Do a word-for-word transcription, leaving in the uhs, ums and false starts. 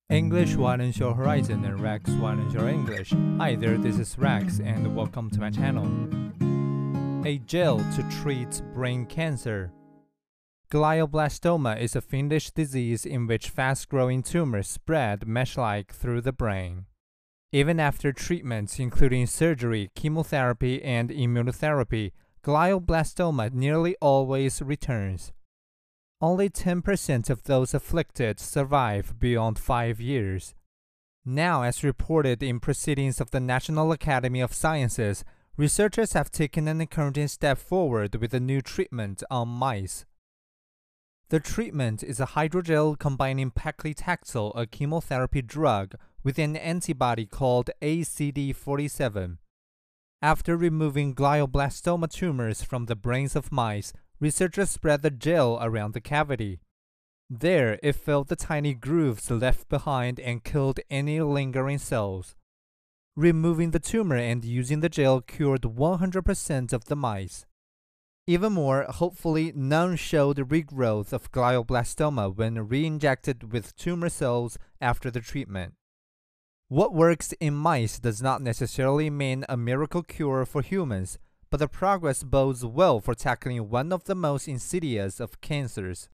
English widens your horizon and Rex widens your English. Hi there, this is Rex and welcome to my channel. A gel to treat brain cancer. Glioblastoma is a fiendish disease in which fast-growing tumors spread mesh-like through the brain. Even after treatments including surgery, chemotherapy, and immunotherapy, glioblastoma nearly always returns. Only ten percent of those afflicted survive beyond five years. Now, as reported in proceedings of the National Academy of Sciences, researchers have taken an encouraging step forward with a new treatment on mice. The treatment is a hydrogel combining paclitaxel, a chemotherapy drug, with an antibody called A C D forty-seven. After removing glioblastoma tumors from the brains of mice, researchers spread the gel around the cavity. There, it filled the tiny grooves left behind and killed any lingering cells. Removing the tumor and using the gel cured one hundred percent of the mice. Even more, hopefully, none showed regrowth of glioblastoma when re-injected with tumor cells after the treatment. What works in mice does not necessarily mean a miracle cure for humans, but the progress bodes well for tackling one of the most insidious of cancers.